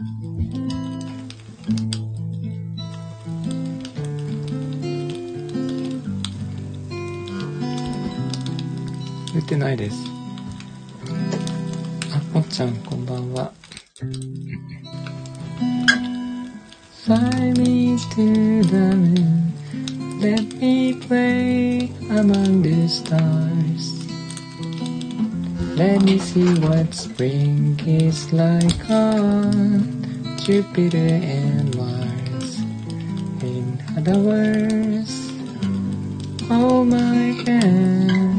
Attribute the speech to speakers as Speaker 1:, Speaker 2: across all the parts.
Speaker 1: 打ってないです。あ、もっちゃんこんばんは。Fly me to the moon, let me play among the stars. Let me see what spring is like on Jupiter and Mars. In other words, hold my hand.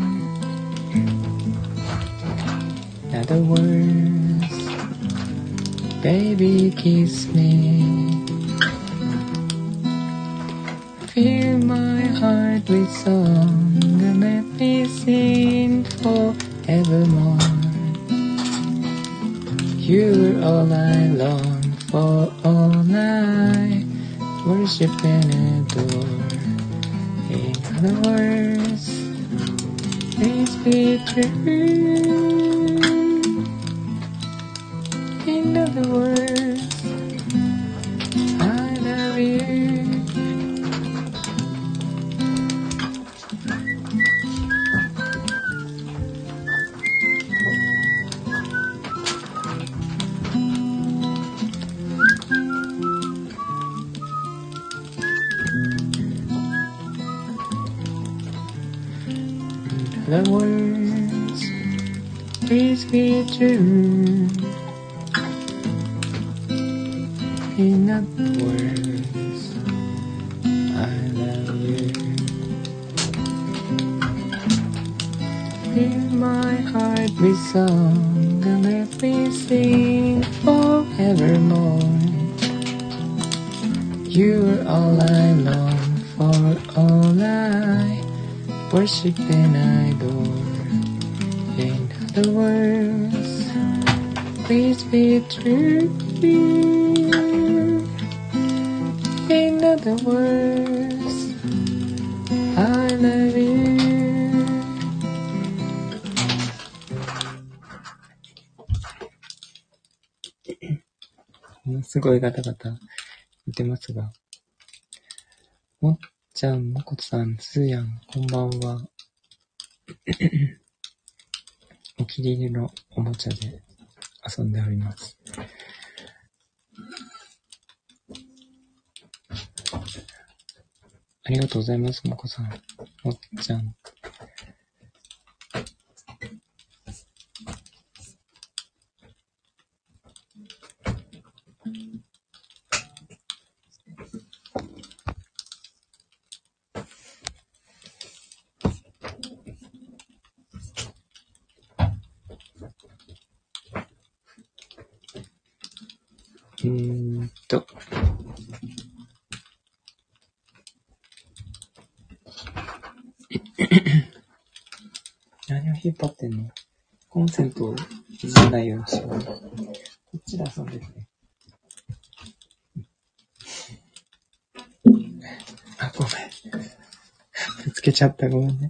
Speaker 1: In other words, baby kiss me.Fill my heart with song and let me sing forevermore. You're all I long for, all I worship and adore. In other words, please be true. In other words, I love you.The words, please be true. In other words, I love you. Fill my heart with song and let me sing forevermore. You're all I long for, all I worship and adore. In other words, please be true. In other words, I love you. すごいガタガタ言ってますが、もっちゃん、もこさん、すーやん、こんばんは。お気に入りのおもちゃで遊んでおります。ありがとうございます、もこさん。もっちゃん。何を引っ張ってんの？コンセントをいじらないようにしよう。こっちで遊んでてね。あ、ごめん。ぶつけちゃった、ごめんね。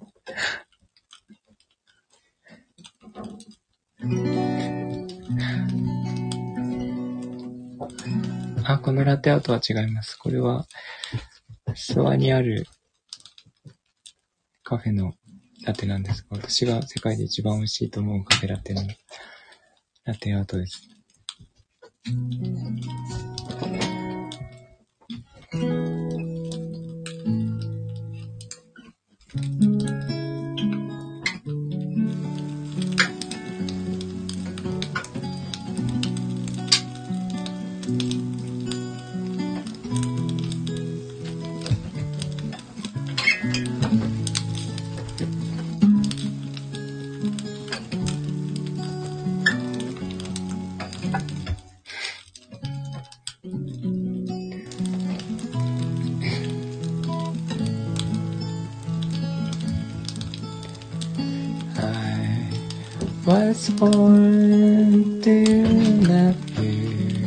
Speaker 1: あ、このラテアートは違います。これは、諏訪にあるカフェのラテなんですが、私が世界で一番美味しいと思うカフェラテのラテアートです。Was born to love you.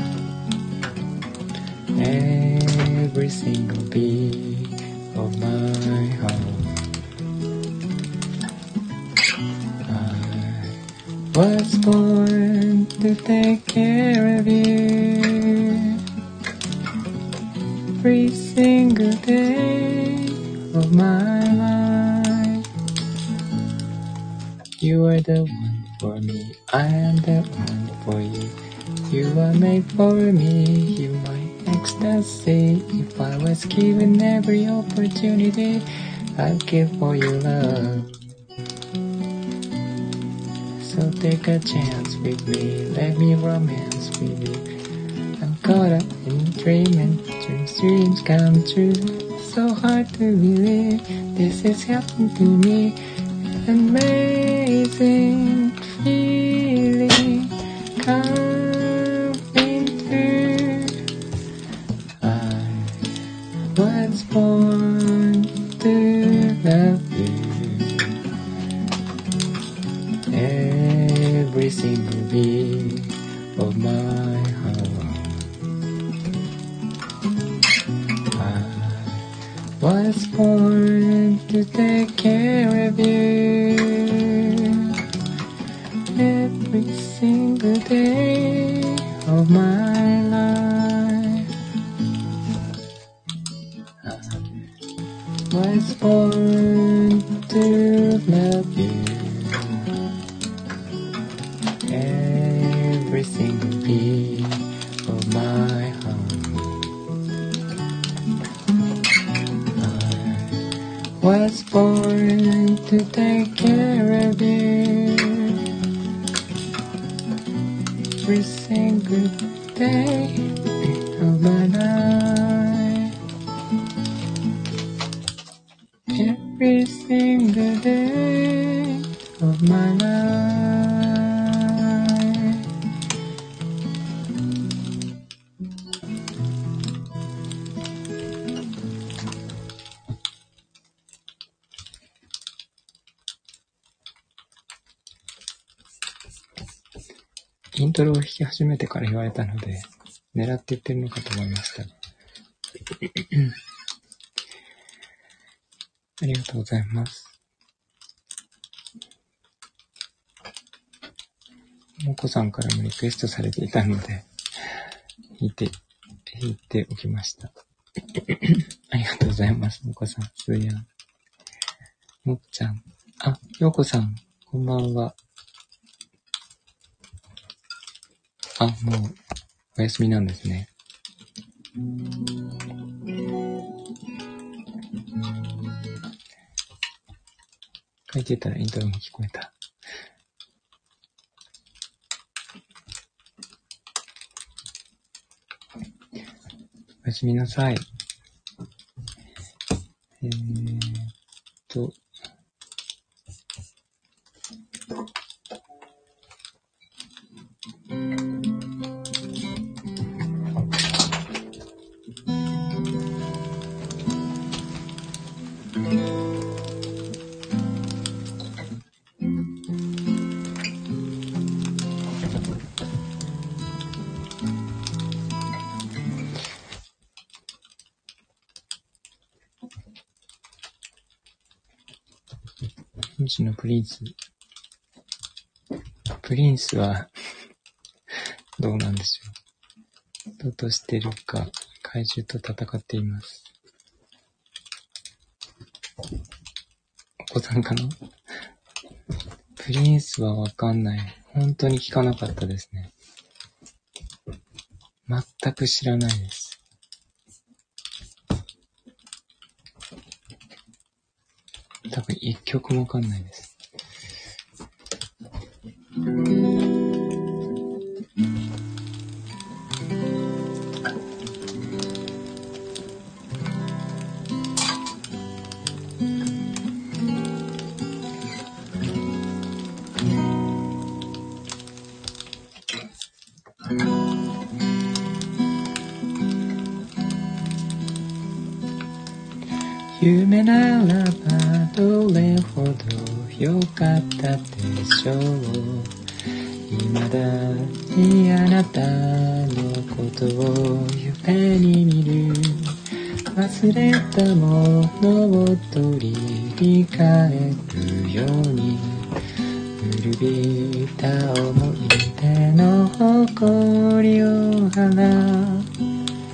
Speaker 1: Every single beat of my heart. I was born to take care of you every single day of my life. You are the one for me, I am the one for you. You are made for me, you my ecstasy. If I was given every opportunity, I'd give for your love. So take a chance with me, let me romance with you. I'm caught up in dreaming, dreams come true. So hard to believe this has happened to me. Amazing feeling coming through. I was born to love you. Every single beat of my heart. I was born to take care of you every single day of my life. I was born to love you every single beat of my heart. I was born to take care of you every single day of my life. Every single day of my life.イントロを弾き始めてから言われたので、狙って言ってるのかと思いました。ありがとうございます。もこさんからもリクエストされていたので、弾いておきました。ありがとうございます。もこさん、すーやん。もっちゃん。あ、ようこさん、こんばんは。あ、もう、お休みなんですね。書いてたらイントロも聞こえた。おやすみなさい。星のプリンス。プリンスはどうなんでしょう。どうとしてるか、怪獣と戦っています。お子さんかな。プリンスはわかんない。本当に聞かなかったですね。全く知らないです。多分一曲もわかんないです。夢ならばどれほど良かったでしょう。未だにあなたのことを夢に見る。忘れたものを取り返るように古びた思い出の誇りを払う。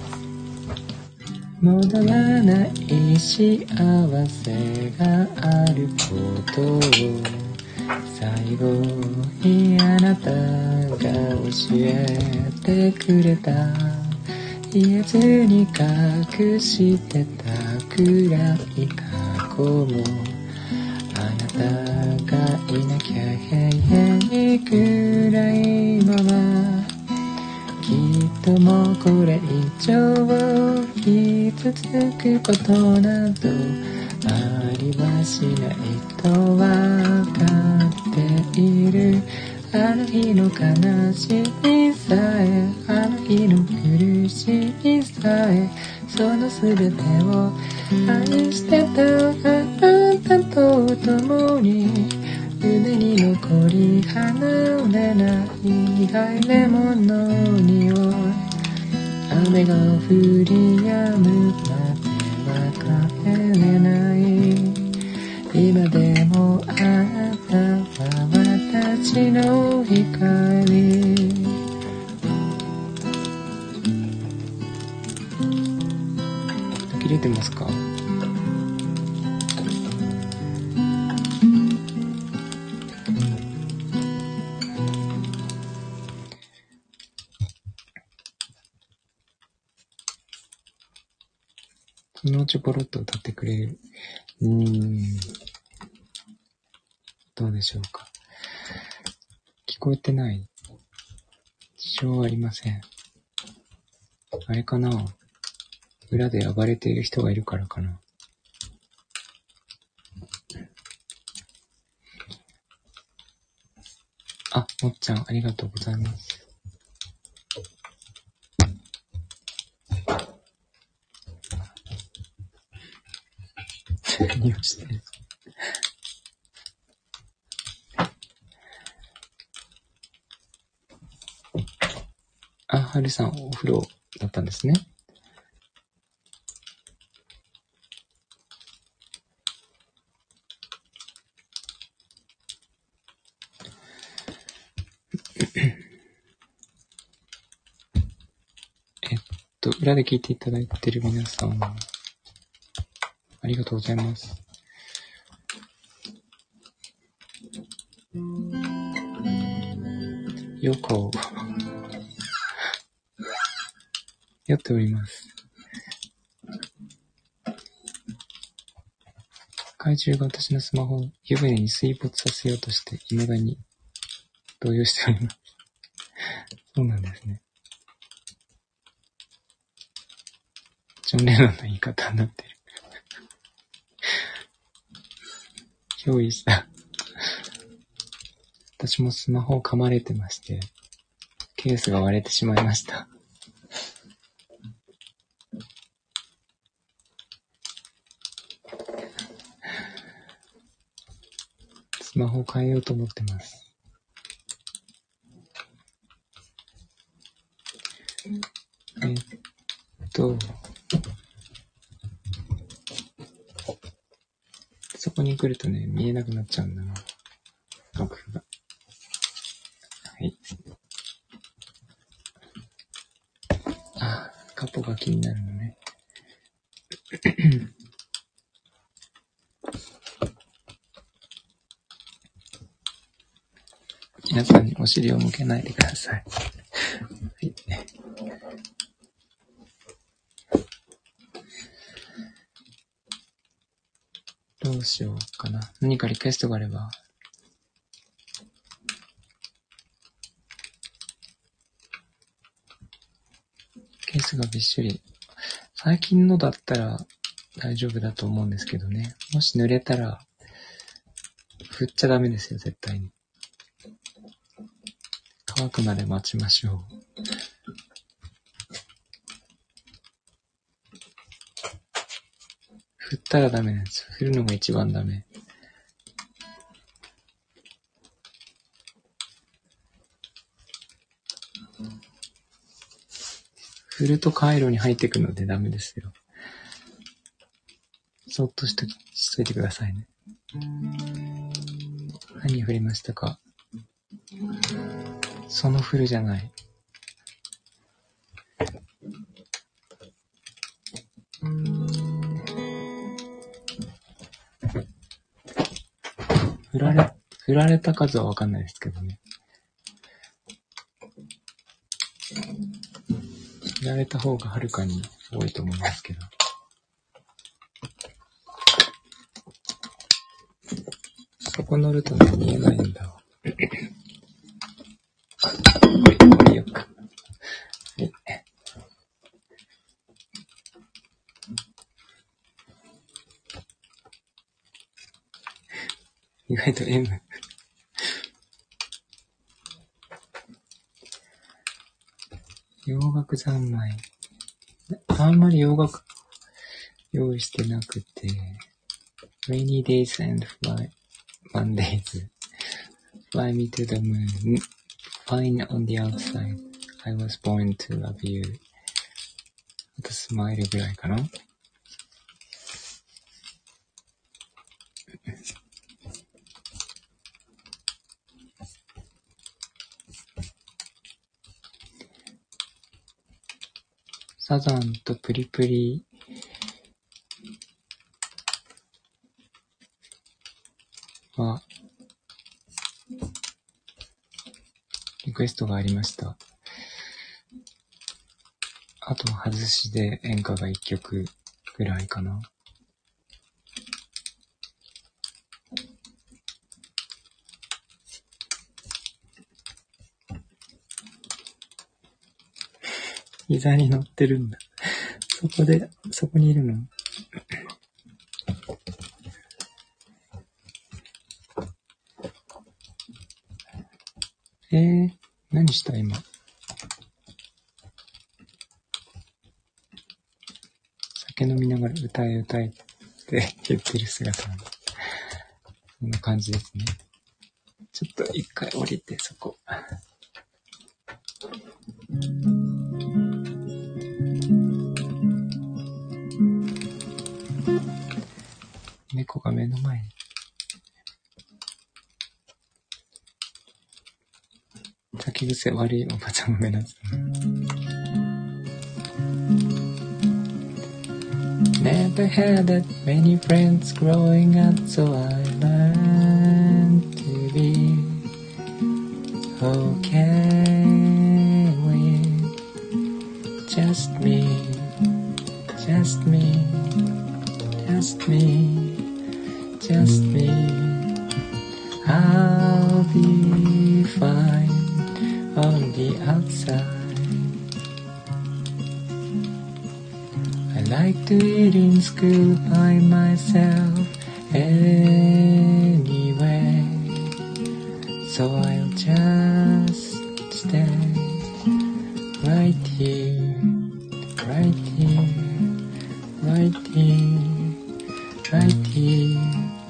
Speaker 1: 戻らない幸せがあることを最後にあなたが教えてくれた。言えずに隠してた暗い過去もあなたがいなきゃ永遠に暗いまま。きっともうこれ以上傷つくことなどありはしないとわかっている。あの日の悲しみさえあの日の苦しみさえその全てを愛してたあなたと共に胸に残り離れない痛いレモンの匂い。雨が降り止むまでは帰れない。今でもあなたは私の光。切れてますか？そのうちポロッと歌ってくれる。どうでしょうか。聞こえてない。支障はありません。あれかな？裏で暴れている人がいるからかな。あ、もっちゃんありがとうございます。何をしてる？あ、はるさんお風呂だったんですね。裏で聞いていただいている皆さん、ありがとうございます。よこ酔っております。怪獣が私のスマホを湯船に水没させようとして未だに動揺しております。そうなんですね。ジョン・レノンの言い方になってる。憑依した。私もスマホを噛まれてまして、ケースが割れてしまいました。スマホを変えようと思ってます。そこに来るとね、見えなくなっちゃうんだな。録画が。はい。カポが気になるのね。皆さんにお尻を向けないでください。はい。どうしようかな。何かリクエストがあれば。ケースがびっしり。最近のだったら大丈夫だと思うんですけどね。もし濡れたら、振っちゃダメですよ、絶対に。乾くまで待ちましょう。振ったらダメなんですよ。振るのが一番ダメ。振ると回路に入ってくのでダメですよ。そっとしといてくださいね。何振りましたか？ そのフルじゃない。振られた数はわかんないですけどね。振られた方がはるかに多いと思いますけど。そこ乗るとね、見えないんだわ。これよく。意外と M。洋楽三昧。あんまり洋楽用意してなくて。Rainy days and Mondays. Fly me to the moon. Fine on the outside. I was born to love you. あとスマイルぐらいかな。サザンとプリプリはリクエストがありました。あと外しで演歌が1曲ぐらいかな。膝に乗ってるんだ。そこにいるの？何した今？酒飲みながら歌えって言ってる姿。こんな感じですね。ちょっと一回降りてそこ。猫が目の前に。酒癖悪いおばちゃんが目立つ。Never had that many friends growing up, so I learned to be okay with just me, just me, just me, just me. I'll be fine on the outside.I like to eat in school by myself anyway, so I'll just stay right here, right here, right here, right here.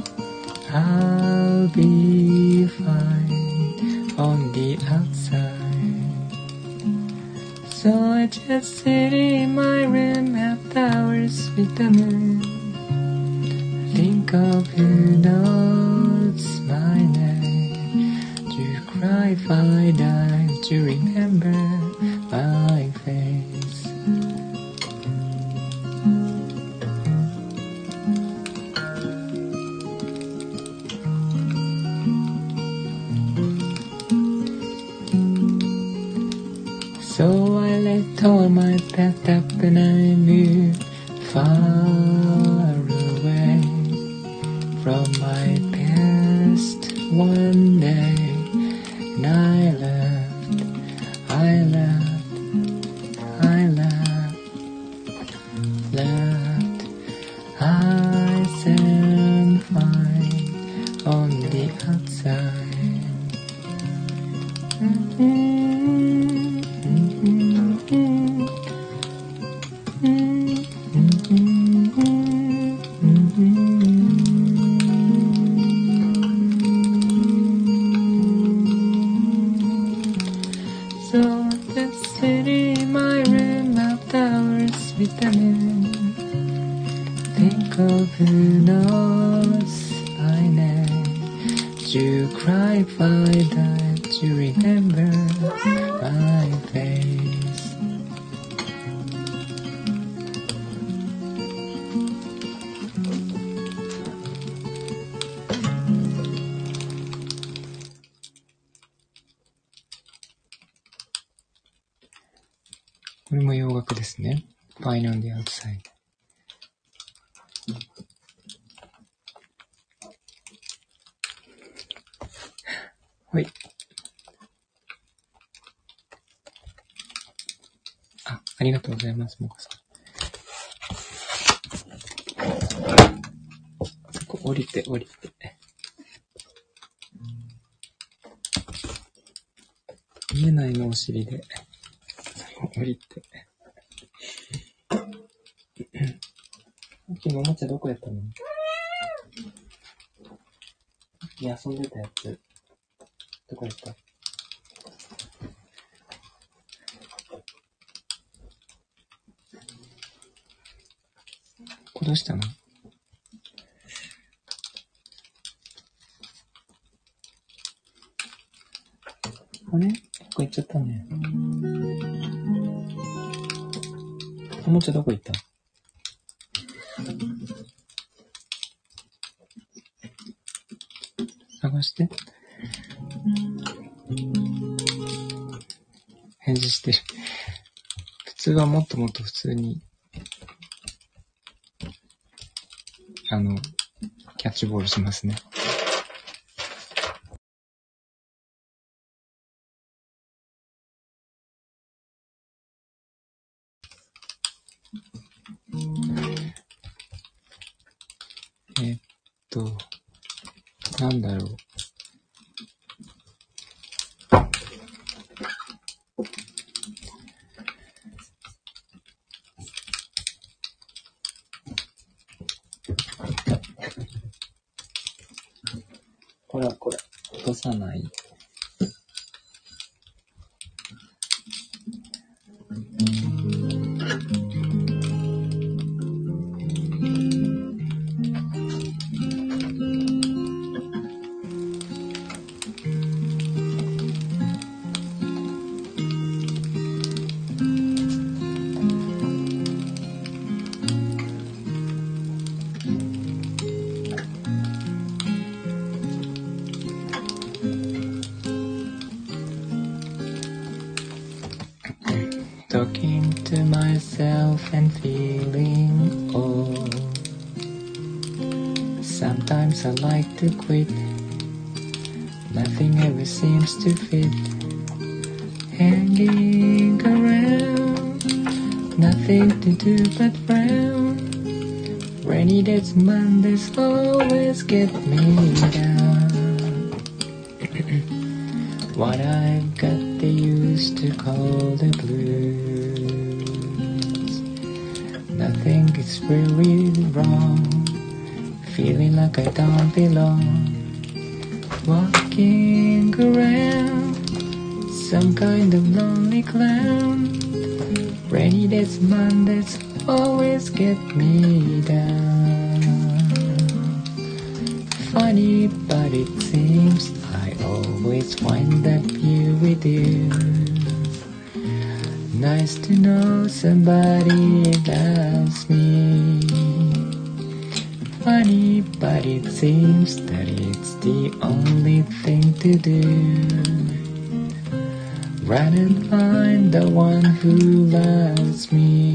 Speaker 1: I'll be fine on the outside.So I just sit in my room, have hours with the moon. Think of who knows my name. Do you cry if I die? Do you remember my face?So I let all my pent up and I moved far away from my past one day. And I left, I stand fine on the outside.So just sit in my room after hours with the moon. Think of who knows my name. Do you cry if I die? Do you remember my face.これも洋楽ですね。Fine on the outside。はい。ありがとうございます、もこさん。そこ降りて。見えないのお尻で。降りて。昨日おもちゃどこやったの？遊んでたやつ。どこやった？どうしたの？あれ？どこ行っちゃったね。おもちゃどこ行った？探して。返事してる。普通はもっともっと普通にキャッチボールしますね。なんだろう。これ、落とさない。Talking to myself and feeling old. Sometimes I like to quit. Nothing ever seems to fit. Hanging around, nothing to do but frown. Rainy days, Mondays always get me down. What I've got they used to call the blues. Nothing is really wrong. Feeling like I don't belong. Walking around, some kind of lonely clown. Rainy days, Mondays always get me down. Funny, but it seems I always find that you with you. Nice to know somebody loves me. Funny, but it seems that it's the only thing to do. Run and find the one who loves me.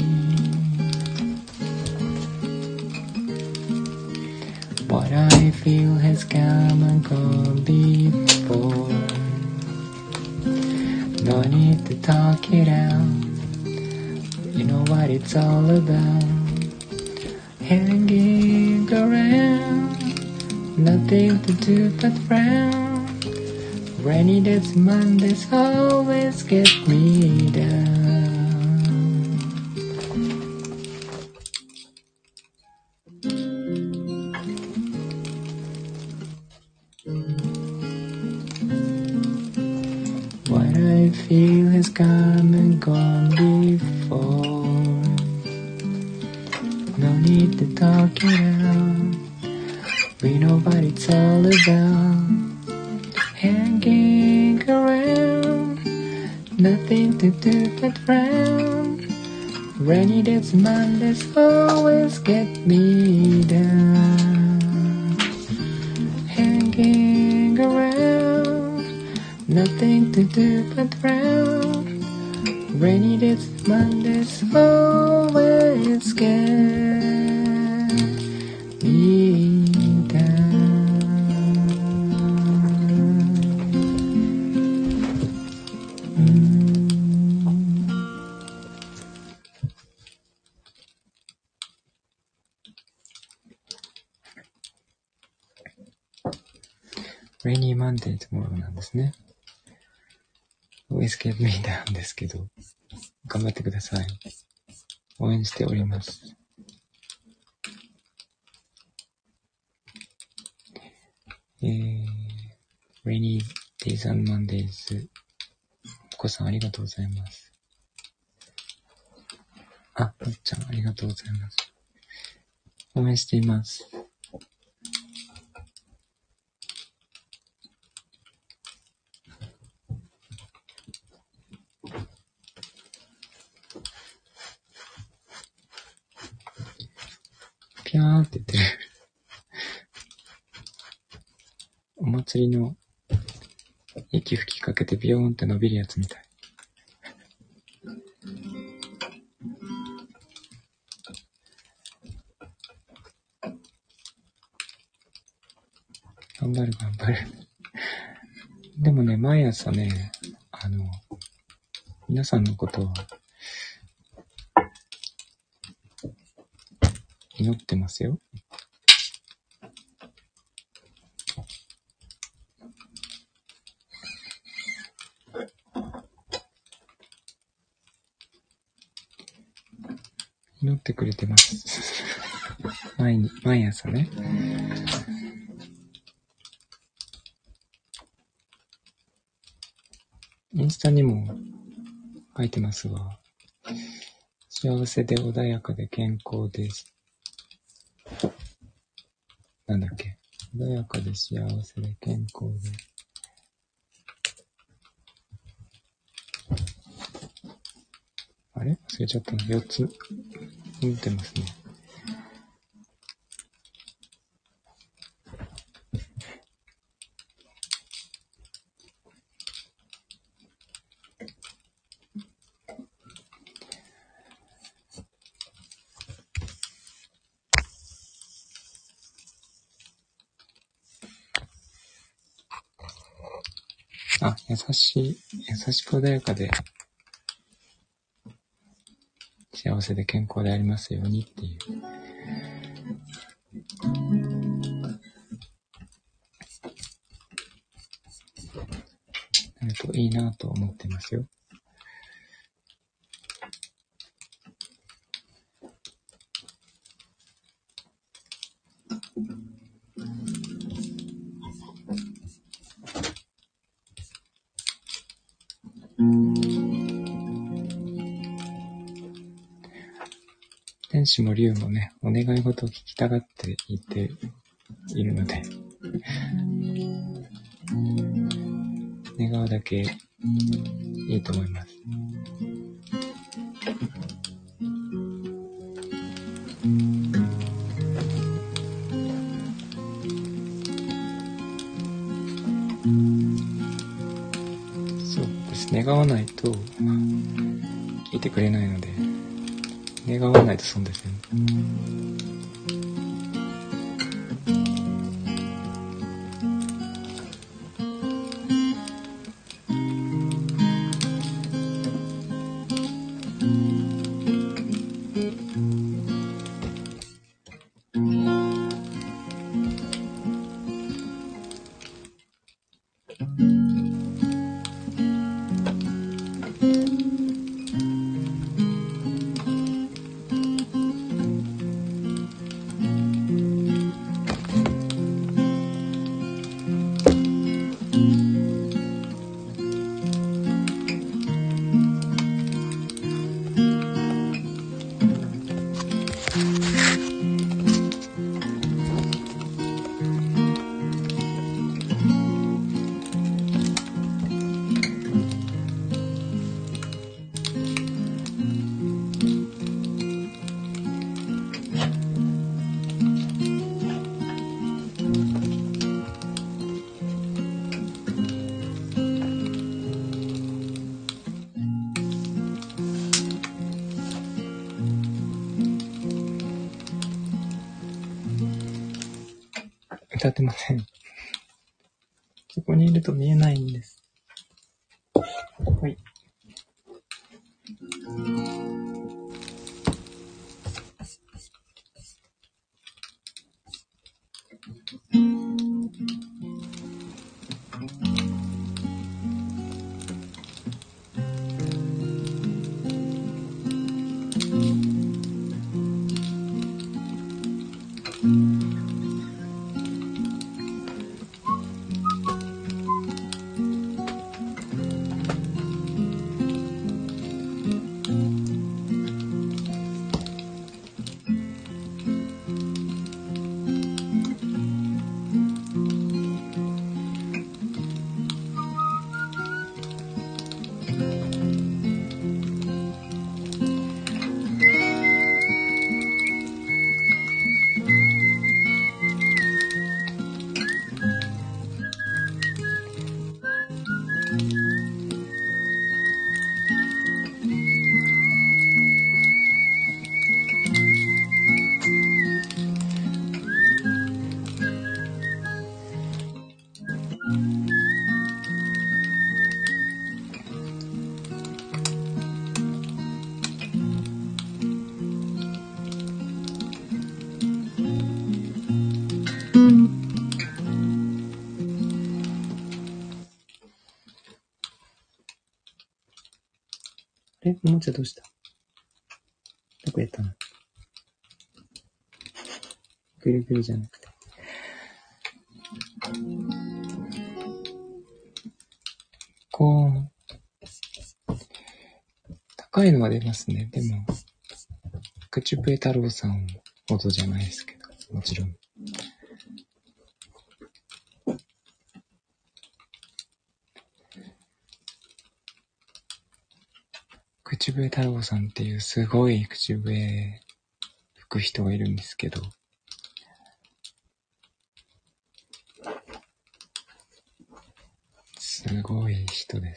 Speaker 1: What I feel has come and gone before. No need to talk it out. You know what it's all about. Hanging around, nothing to do but frown. Rainy days, Mondays always get me down. What I feel has come and gone before. No need to talk it out. We know what it's all about. Hanging around, nothing to do but frown. Rainy days, Mondays always get me down. Hanging around, nothing to do but frown. Rainy days, Mondays always get me down. Rainy Monday tomorrow なんですね。always get me down ですけど、頑張ってください。応援しております。Rainy Days and Mondays。お子さんありがとうございます。あ、むっちゃんありがとうございます。応援しています。ピャーって言ってる。お祭りの息吹きかけてビヨーンって伸びるやつみたい。頑張る頑張る。でもね、毎朝ね、皆さんのことを祈ってますよ。祈ってくれてます。毎朝ね。インスタにも書いてますが、幸せで穏やかで健康です。なんだっけ？穏やかで幸せで健康で。あれ？忘れちゃったの。4つ持ってますね。あ、優しく穏やかで幸せで健康でありますようにっていう。なるといいなと思ってますよ。天使も竜もね、お願い事を聞きたがって言っているので、願うだけいいと思います。そうです。願わないと聞いてくれないので、願わないと損ですよね。 立てません。そこにいると見えないんです。はい。おもちゃどうした？どこやったの？ぐるぐるじゃなくて。こう、高いのは出ますね。でも、口笛太郎さんほどじゃないですけど、もちろん。口笛太郎さんっていうすごい口笛吹く人がいるんですけど、すごい人です。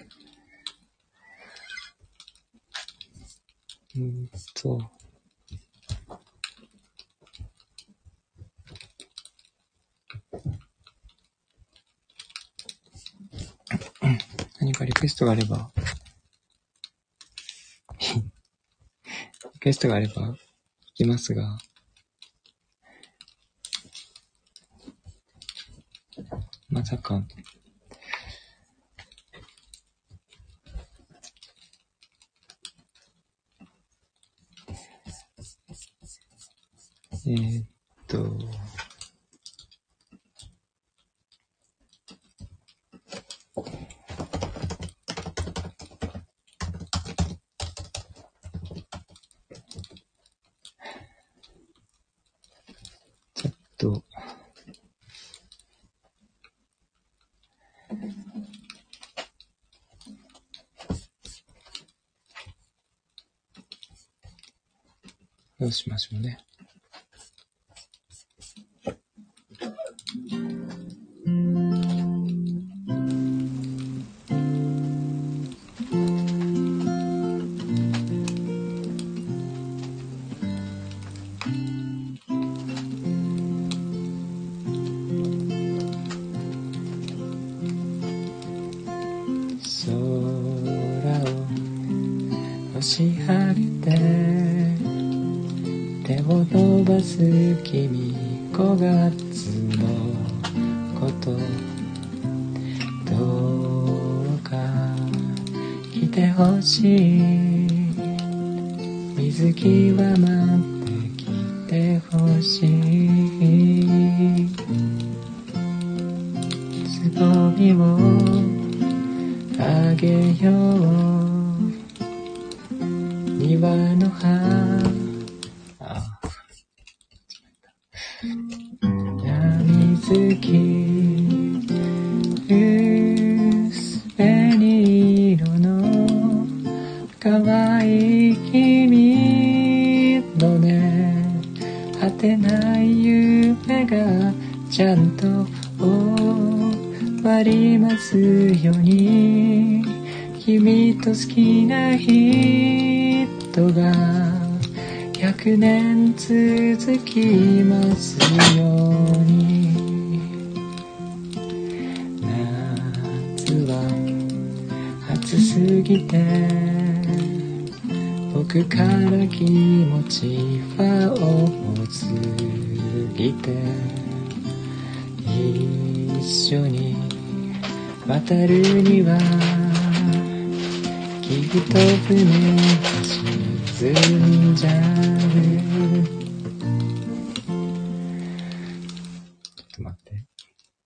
Speaker 1: 何かリクエストがあればリクエストがあれば聞きますが、まさかどうしましょうね。空を星晴れて手を伸ばす君、5月のことどうか来てほしい、水着は待ってきてほしい、つぼみをあげよう、庭の葉水着薄紅色の可愛い君のね、果てない夢がちゃんと終わりますように、君と好きな人が 100年続きますように。夏は暑すぎて僕から気持ちは重すぎて、一緒に渡るにはきっと船が沈んじゃう。ちょっと待って。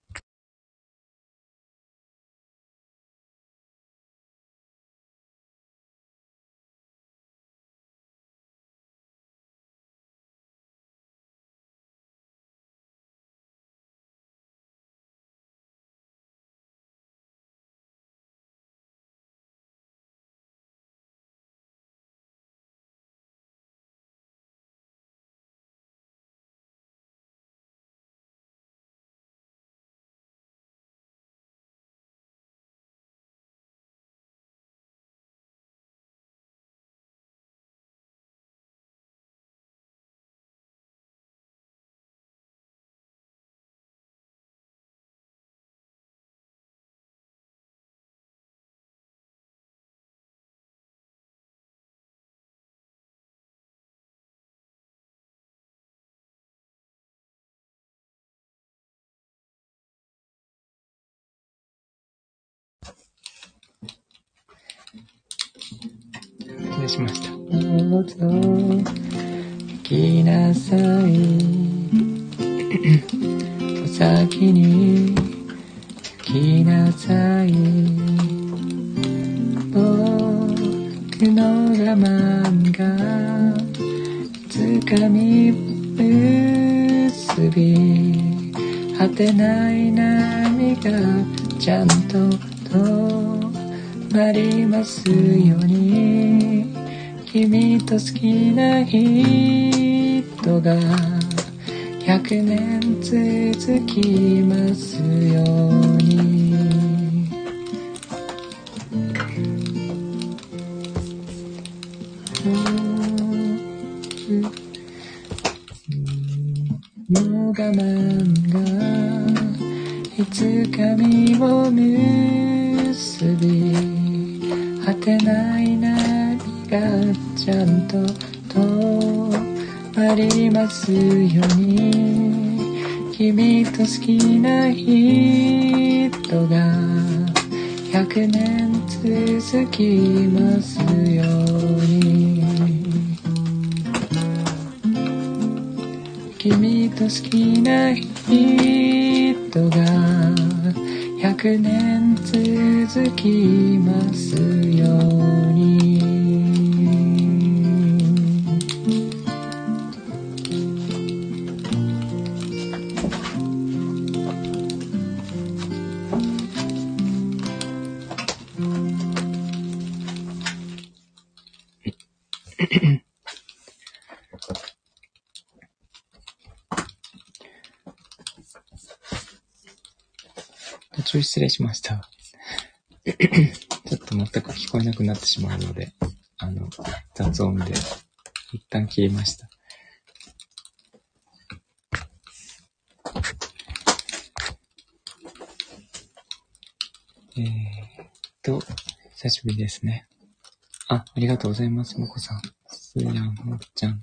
Speaker 1: 失礼しました。どうぞ行きなさい。お先に行きなさい。僕の我慢が掴み結び、果てない波がちゃんと止まりますように。君と好きな人が100年続きますように。の我慢がいつか実を結び、果てない波がちゃんと止まりますように。君と好きな人が100年続きますように。君と好きな人が100年続きますように。途中失礼しました。ちょっと全く聞こえなくなってしまうので、雑音で一旦切りました。久しぶりですね。ありがとうございます、もこさん。すーやん、もっちゃん。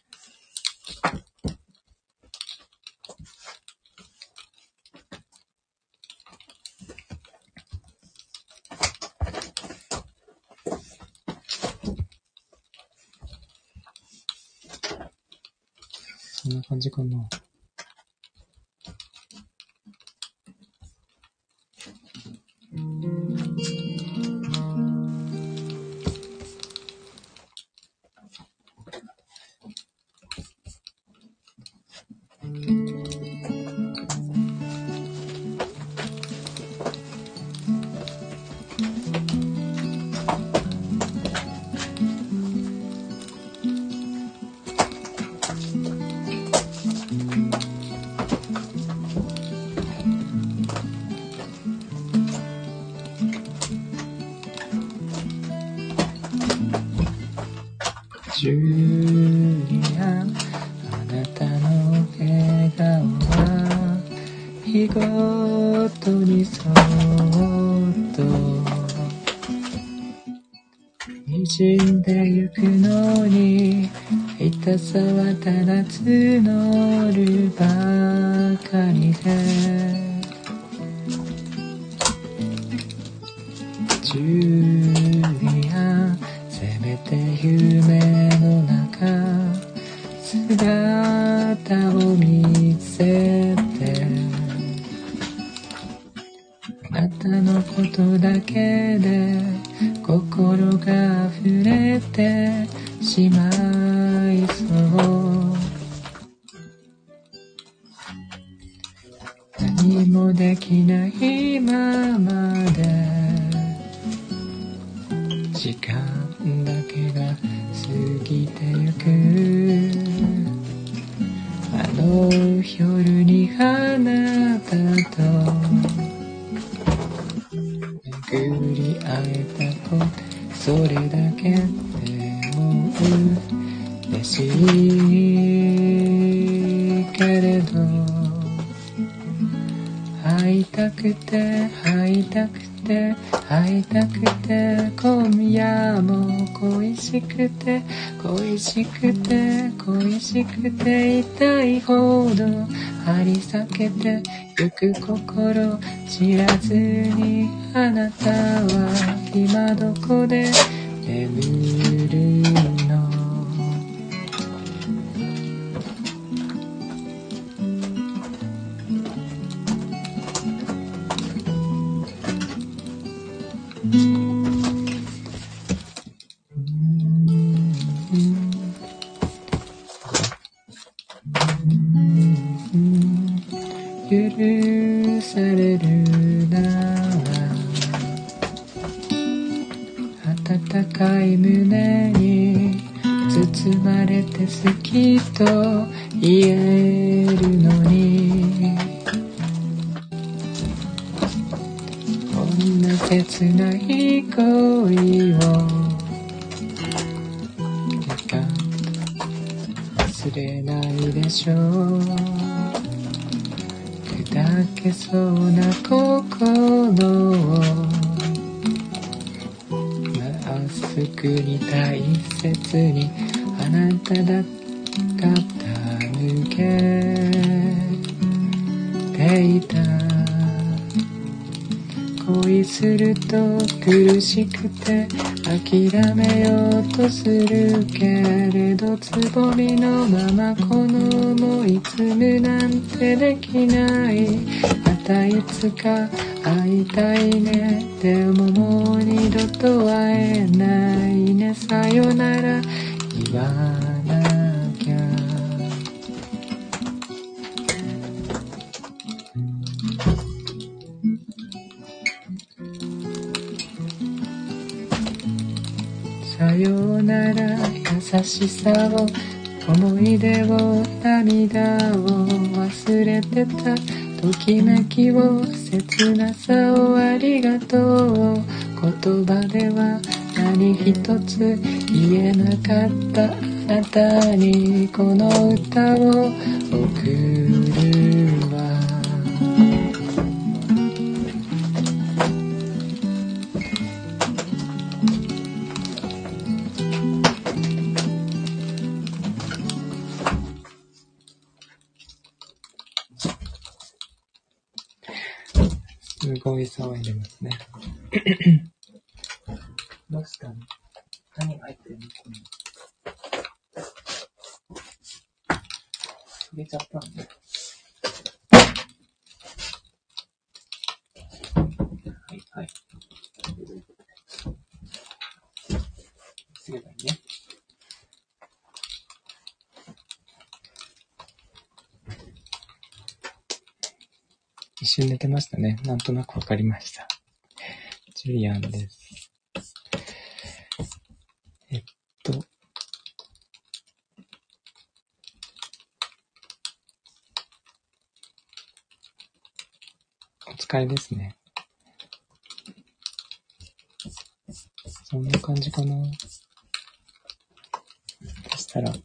Speaker 1: そんな感じかな。12 滲んでゆくのに痛さはただ募るばかりでジュリアせめて夢の中姿を見せてあなたのことだけで心が溢れてしまいそう何もできないままで時間だけが過ぎてゆくあの夜にあなたと巡り会えたことそれだけでも嬉しいけれど会いたくて会いたくて会いたくて今夜も恋しくて恋しくて恋しくて痛いほど張り裂けてゆく心知らずにあなたは今どこで眠るの許されるなら温かい胸に包まれて好きと言えるのにこんな切ない恋を忘れないでしょう砕けそうな心をまっすぐに大切にあなただ傾けていた恋すると苦しくて諦めようとするけれどつぼみのままこの想い詰むなんてできないまたいつか会いたいねでももう二度と会えないねさよなら言わなきゃさよなら優しさを思い出を涙を忘れてたときめきを切なさをありがとう言葉では何一つ言えなかったあなたにこの歌を送るわすごい騒いでますね。どうしたの？何が入ってるの？入れちゃったんだ。はいはい。すればいいね。一瞬寝てましたね。なんとなくわかりました。ジュリアンです。お疲れですね。そんな感じかな。そしたら、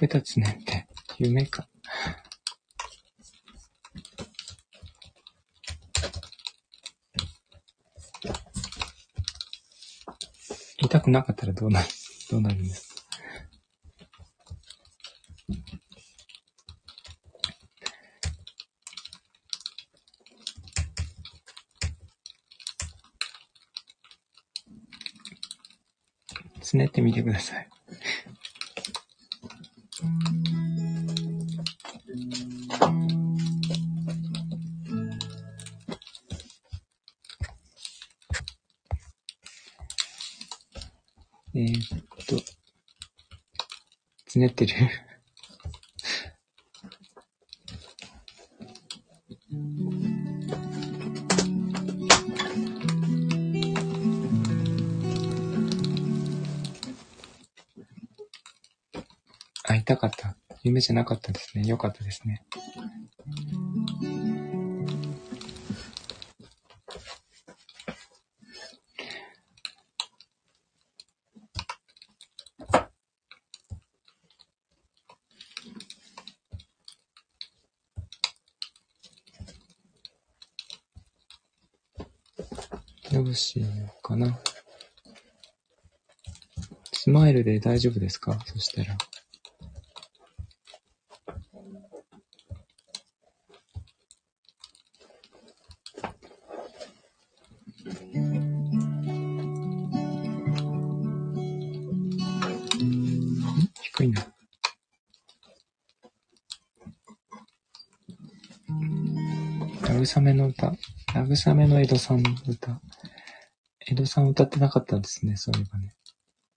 Speaker 1: べたつねって夢か。痛くなかったらどうなるんですか？つねってみてください。つねってるあ、痛かった。夢じゃなかったですね。よかったですね。どうしようかな。スマイルで大丈夫ですか？そしたら。低いな。慰めの歌。慰めの江戸さんの歌。江戸さん歌ってなかったんですね、そういえばね。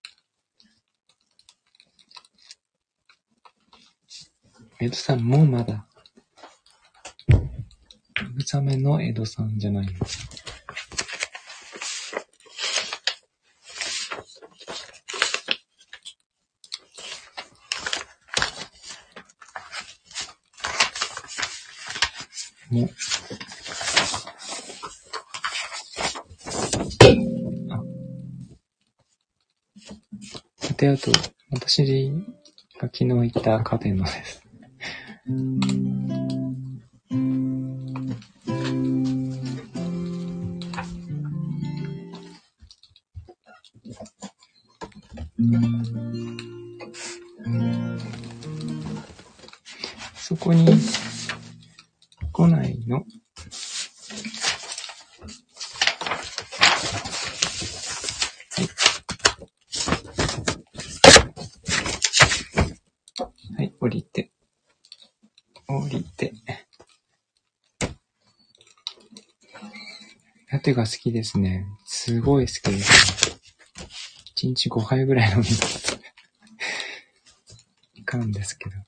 Speaker 1: 江戸さんもまだ。慰めの江戸さんじゃないの。もう。あと、私が昨日行ったカフェのです。そこに来ないの？はい、降りて。ラテが好きですね。すごい好きですね。1日5杯ぐらい飲みます。いかんですけど。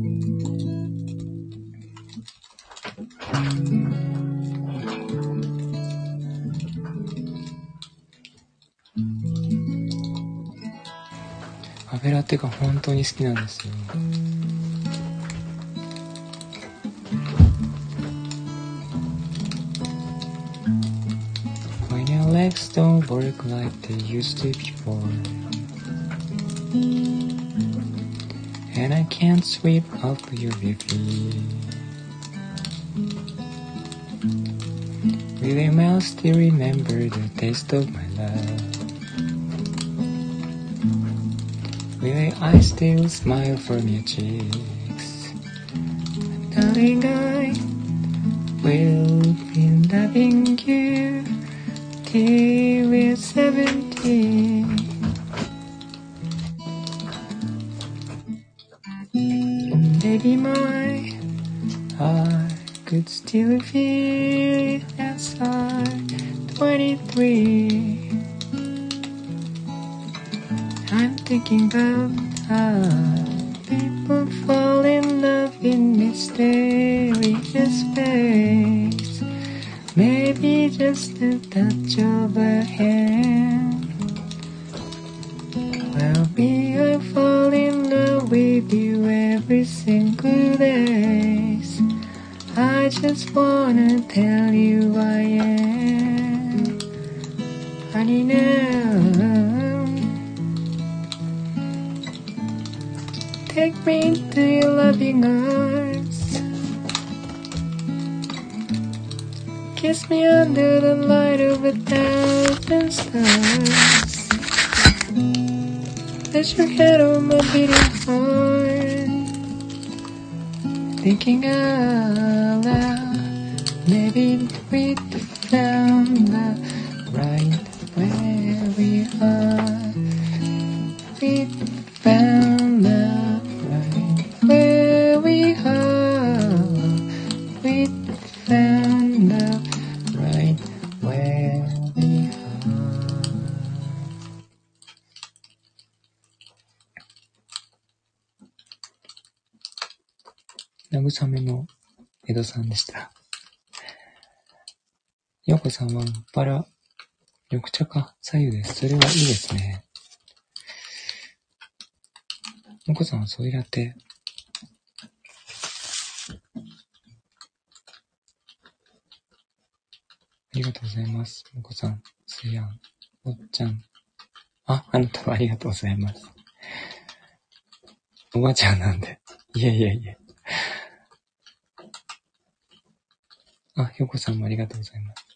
Speaker 1: カフェラテが本当に好きなんですよ。When your legs don't work like they used to before, and I can't sweep up your feet, will your mouth still remember the taste of my love?Will your eyes still smile from your cheeks? Darling, I will be loving you till we're 70. Baby, my heart could still feel as I'm 23.I'm thinking about how people fall in love in mysterious ways. Maybe just a touch of a hand. Well, me, I fall in love with you every single day. I just wanna tell you I am. Honey, now.Tell Take me into your loving arms. Kiss me under the light of 1,000 stars. Place your head on my beating heart. Thinking out loud, maybe we found love right where we are. We found love right where we are. We found love right where we are. 慰めの江戸さんでした。ようこさんはバラ、緑茶か、左右です。それはいいですね。もこさんはソイラテ。ありがとうございます。もこさん、すやん、おっちゃん。あなたはありがとうございます。おばちゃんなんで。いえいえいえ。よこさんもありがとうございます。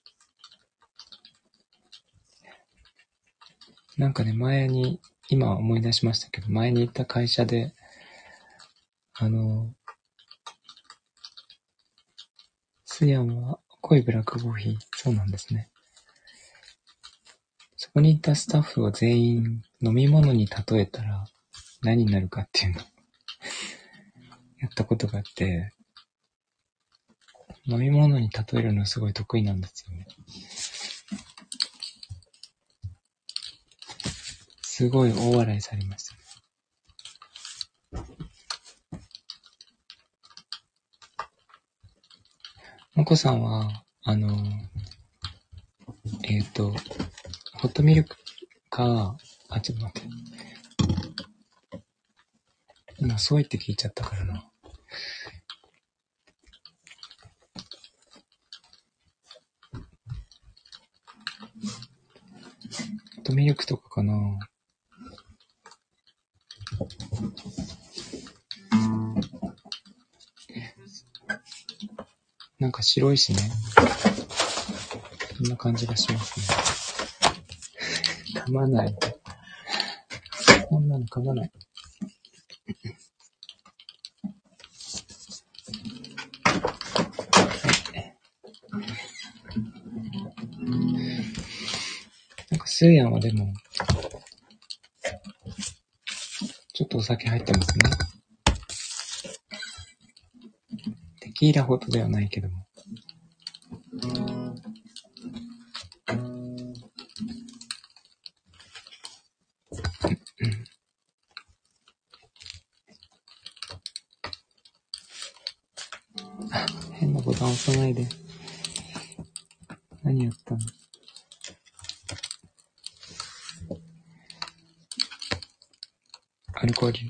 Speaker 1: なんかね、今思い出しましたけど、前に行った会社で、スヤンは濃いブラックコーヒー。そうなんですね。そこに行ったスタッフを全員飲み物に例えたら何になるかっていうのをやったことがあって、飲み物に例えるのすごい得意なんですよね。すごい大笑いされました。もこさんは、ホットミルクか、ちょっと待って。今、そう言って聞いちゃったからな。ホットミルクとかかな。なんか白いしね。そんな感じがしますね。噛まない。こんなの噛まない。なんかスーヤンはでも、ちょっとお酒入ってますね。テキーラほどではないけども。変なボタン押さないで。何やったの？アルコール。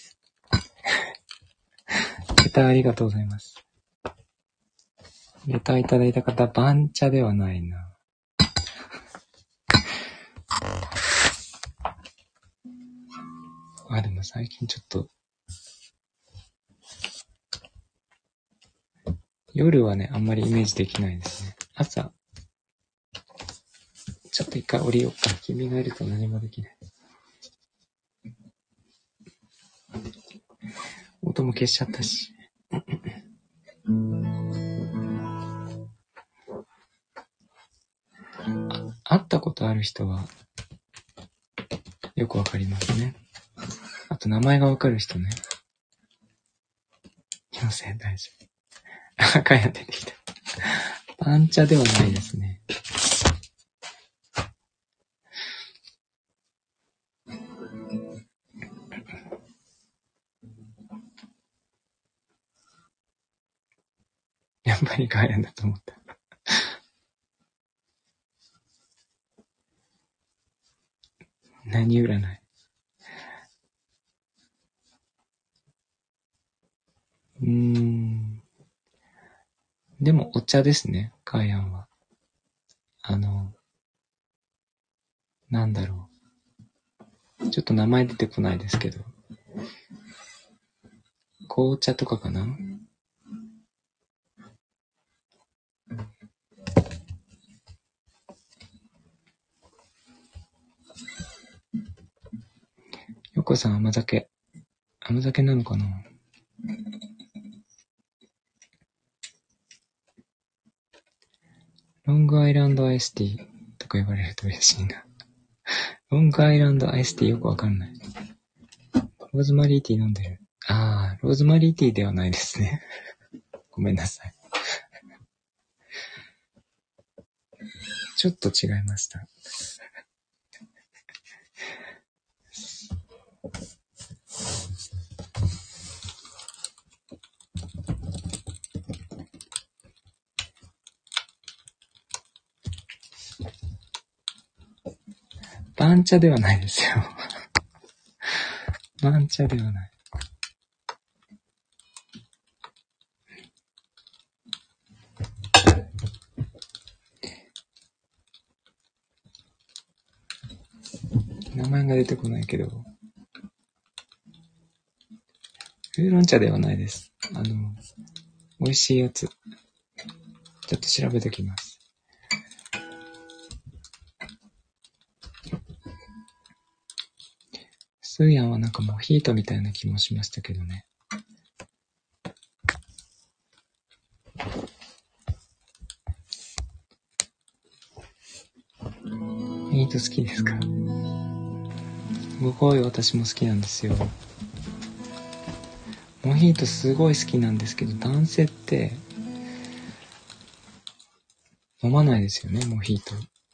Speaker 1: レターありがとうございます。レターいただいた方、番茶ではないな。でも最近ちょっと、夜はね、あんまりイメージできないですね。朝、ちょっと一回降りようか。君がいると何もできない。音も消しちゃったし。会ったことある人はよくわかりますね。あと名前がわかる人ね。気のせい大丈夫。赤や出てきた。パンチャではないですね。やっぱりガーヤンだと思った。何占い？でもお茶ですね、ガーヤンは。なんだろう。ちょっと名前出てこないですけど。 紅茶とかかな。よこさん甘酒なのかな。ロングアイランドアイスティーとか言われると嬉しいな。ロングアイランドアイスティーよくわかんない。ローズマリーティー飲んでる。ローズマリーティーではないですね。ごめんなさい。ちょっと違いました。番茶ではないですよ。番茶ではない。名前が出てこないけど。ウーロン茶ではないです。美味しいやつ。ちょっと調べてきます。スーヤンはなんかモヒートみたいな気もしましたけどね。モヒート好きですか？すごい私も好きなんですよ。モヒートすごい好きなんですけど、男性って飲まないですよね、モヒート。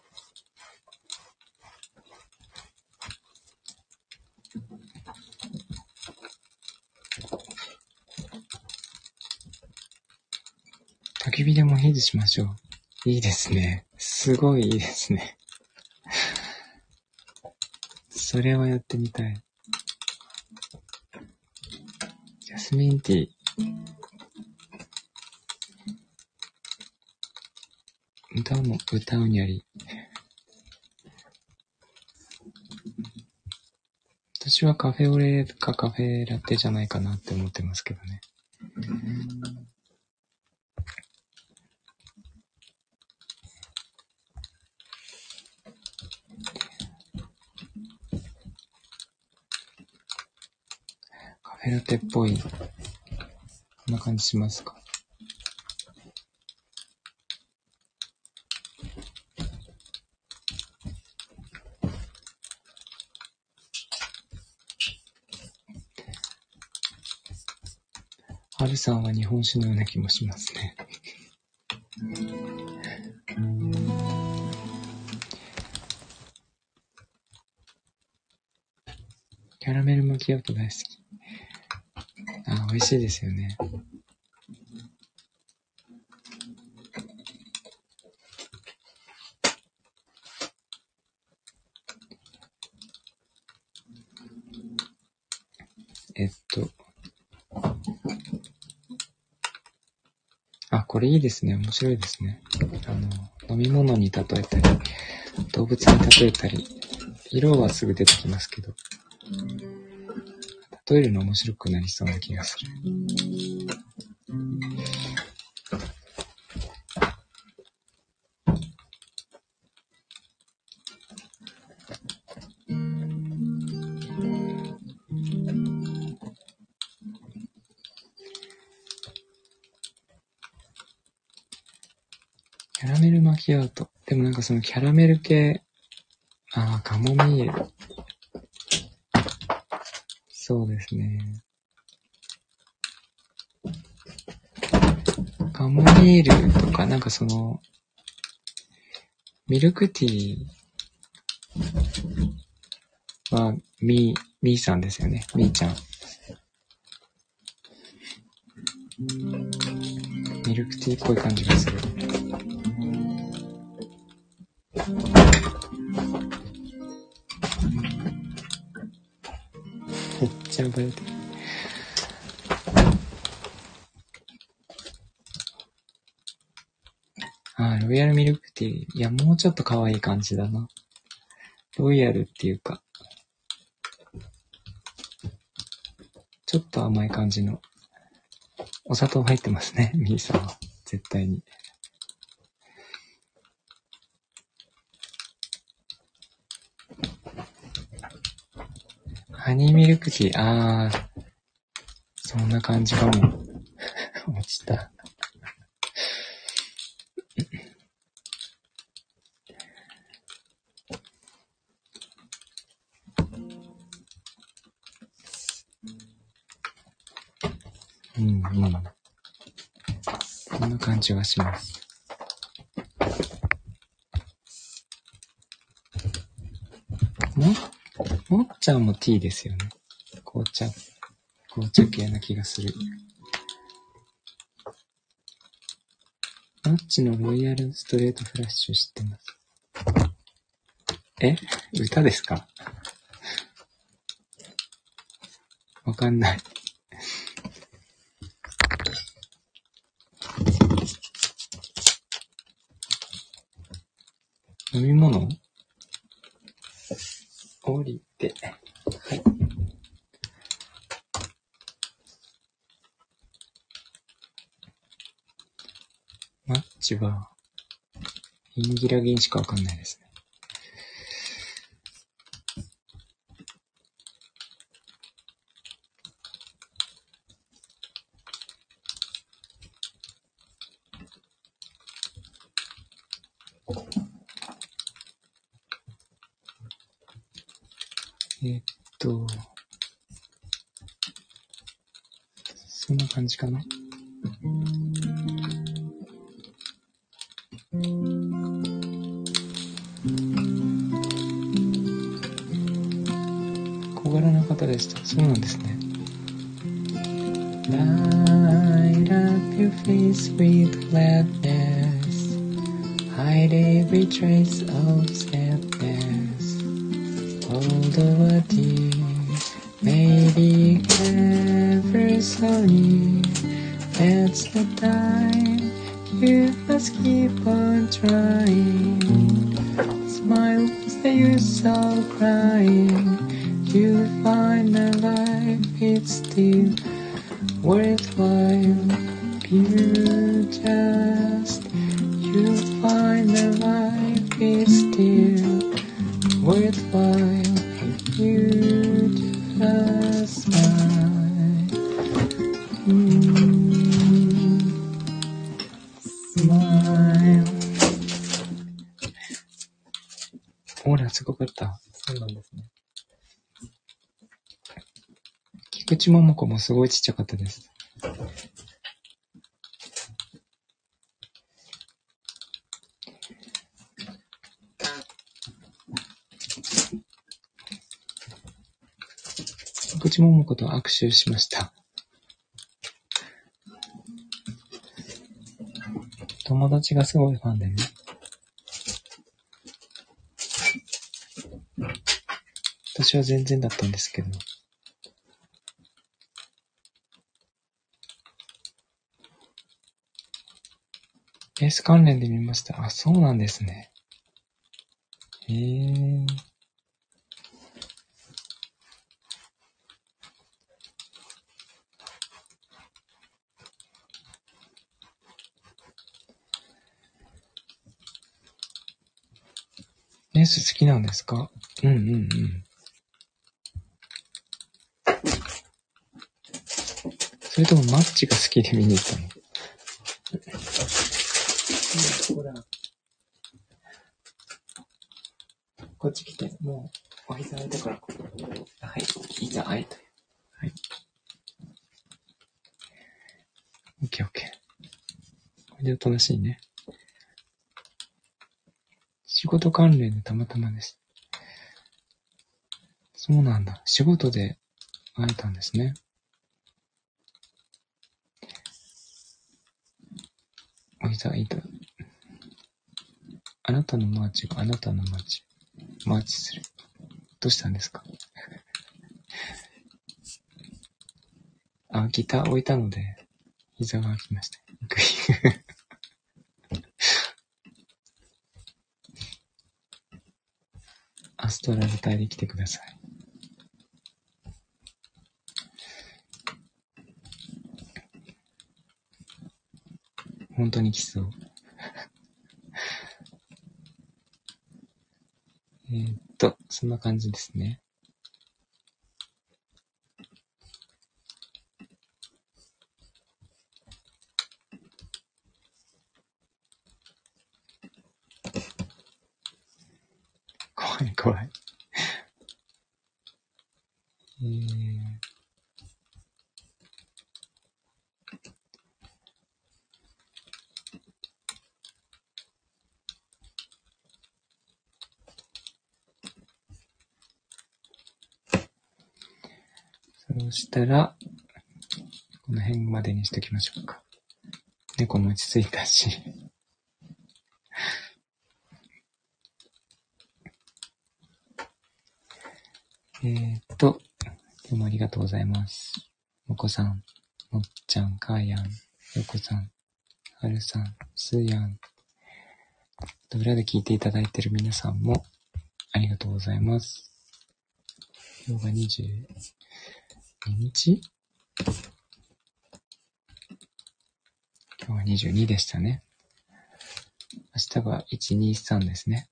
Speaker 1: 焚き火でモヒートしましょう。いいですね。すごいいいですね。それはやってみたい。ジャスミンティー。歌うにゃり。私はカフェオレかカフェラテじゃないかなって思ってますけどね。カフェラテっぽい。こんな感じしますか？ハルさんは日本酒のような気もしますね。キャラメルマキアート大好き。美味しいですよね。これいいですね。面白いですね。飲み物に例えたり、動物に例えたり、色はすぐ出てきますけど、例えるの面白くなりそうな気がする。キャラメルマキアート。でもなんかそのキャラメル系、カモミール。そうですね。カモミールとか、なんかその、ミルクティーは、ミーさんですよね。ミーちゃん。ミルクティーっぽい感じがする。めっちゃ覚えてる。ロイヤルミルクティー。いや、もうちょっと可愛い感じだな。ロイヤルっていうか、ちょっと甘い感じの。 お砂糖入ってますね、ミーさんは。絶対に。ハニーミルクティー、そんな感じかも。落ちた。こんな感じがします。もっちゃんもティーですよね。紅茶系な気がする。もっちのロイヤルストレートフラッシュ知ってます。歌ですか？わかんない。飲み物？降りて。はい。マッチは、インギラギンしかわかんないですね。そんな感じかな。小柄な方でした。そうなんですね。Light up your face with gladness, hide every trace of sadness. Although a tear may be ever so near, that's the time you must keep on trying. Smile, what's the use of crying? You'll find that life is still worthwhile. You'll find that life is still worthwhile if you just smile. Smile. オーラすごかった。そうなんですね。菊池桃子もすごいちっちゃかったです。菊池桃子と握手しました。友達がすごいファンでね。私は全然だったんですけど。エース関連で見ました。あ、そうなんですね。エース好きなんですか？それともマッチが好きで見に行ったの？こっち来て、もうお膝空いたから。はい、膝空いたよ。はい。オッケー。これでおとなしいね。仕事関連でたまたまです。そうなんだ。仕事で会えたんですね。お膝空いた。あなたのマーチがあなたのマーチ。マーチする。どうしたんですか？ギター置いたので、膝が空きました。アストラル隊で来てください。 本当に来そう。そんな感じですね。怖い怖い。そうしたら、この辺までにしときましょうか。猫も落ち着いたし。どうもありがとうございます。もこさん、もっちゃん、かーやん、よこさん、はるさん、すーやん。裏で聞いていただいている皆さんもありがとうございます。今日が22日？今日は22でしたね。明日が123ですね。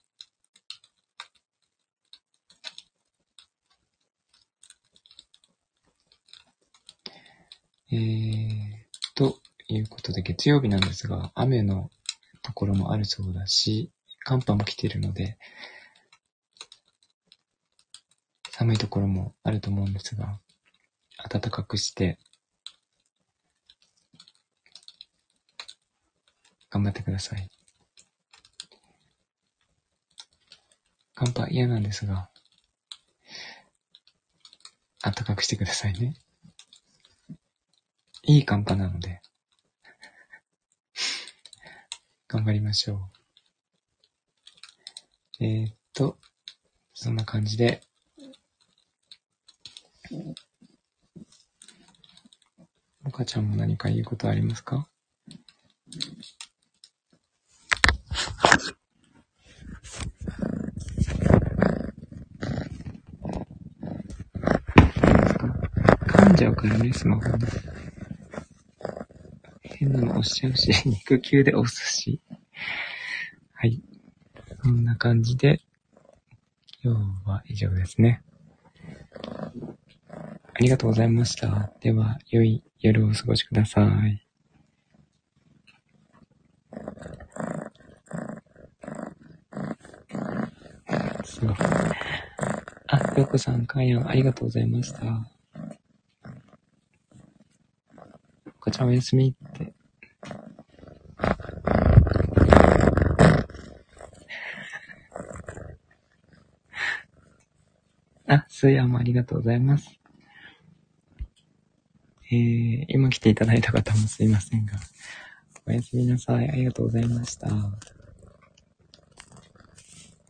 Speaker 1: ということで月曜日なんですが、雨のところもあるそうだし、寒波も来ているので、寒いところもあると思うんですが、暖かくして頑張ってください。寒波嫌なんですが、暖かくしてくださいね。いい寒波なので頑張りましょう。そんな感じで、もかちゃんも何か言うことありますか？噛んじゃうからね、スマホで。変なの押しちゃうし、肉球で押すし。はい。こんな感じで、今日は以上ですね。ありがとうございました。では、良い夜をお過ごしください。すごい。あ、よこさん、かんやん、ありがとうございました。こちらおやすみって。あ、すーやんもありがとうございます。今来ていただいた方もすいませんが、おやすみなさい。ありがとうございました。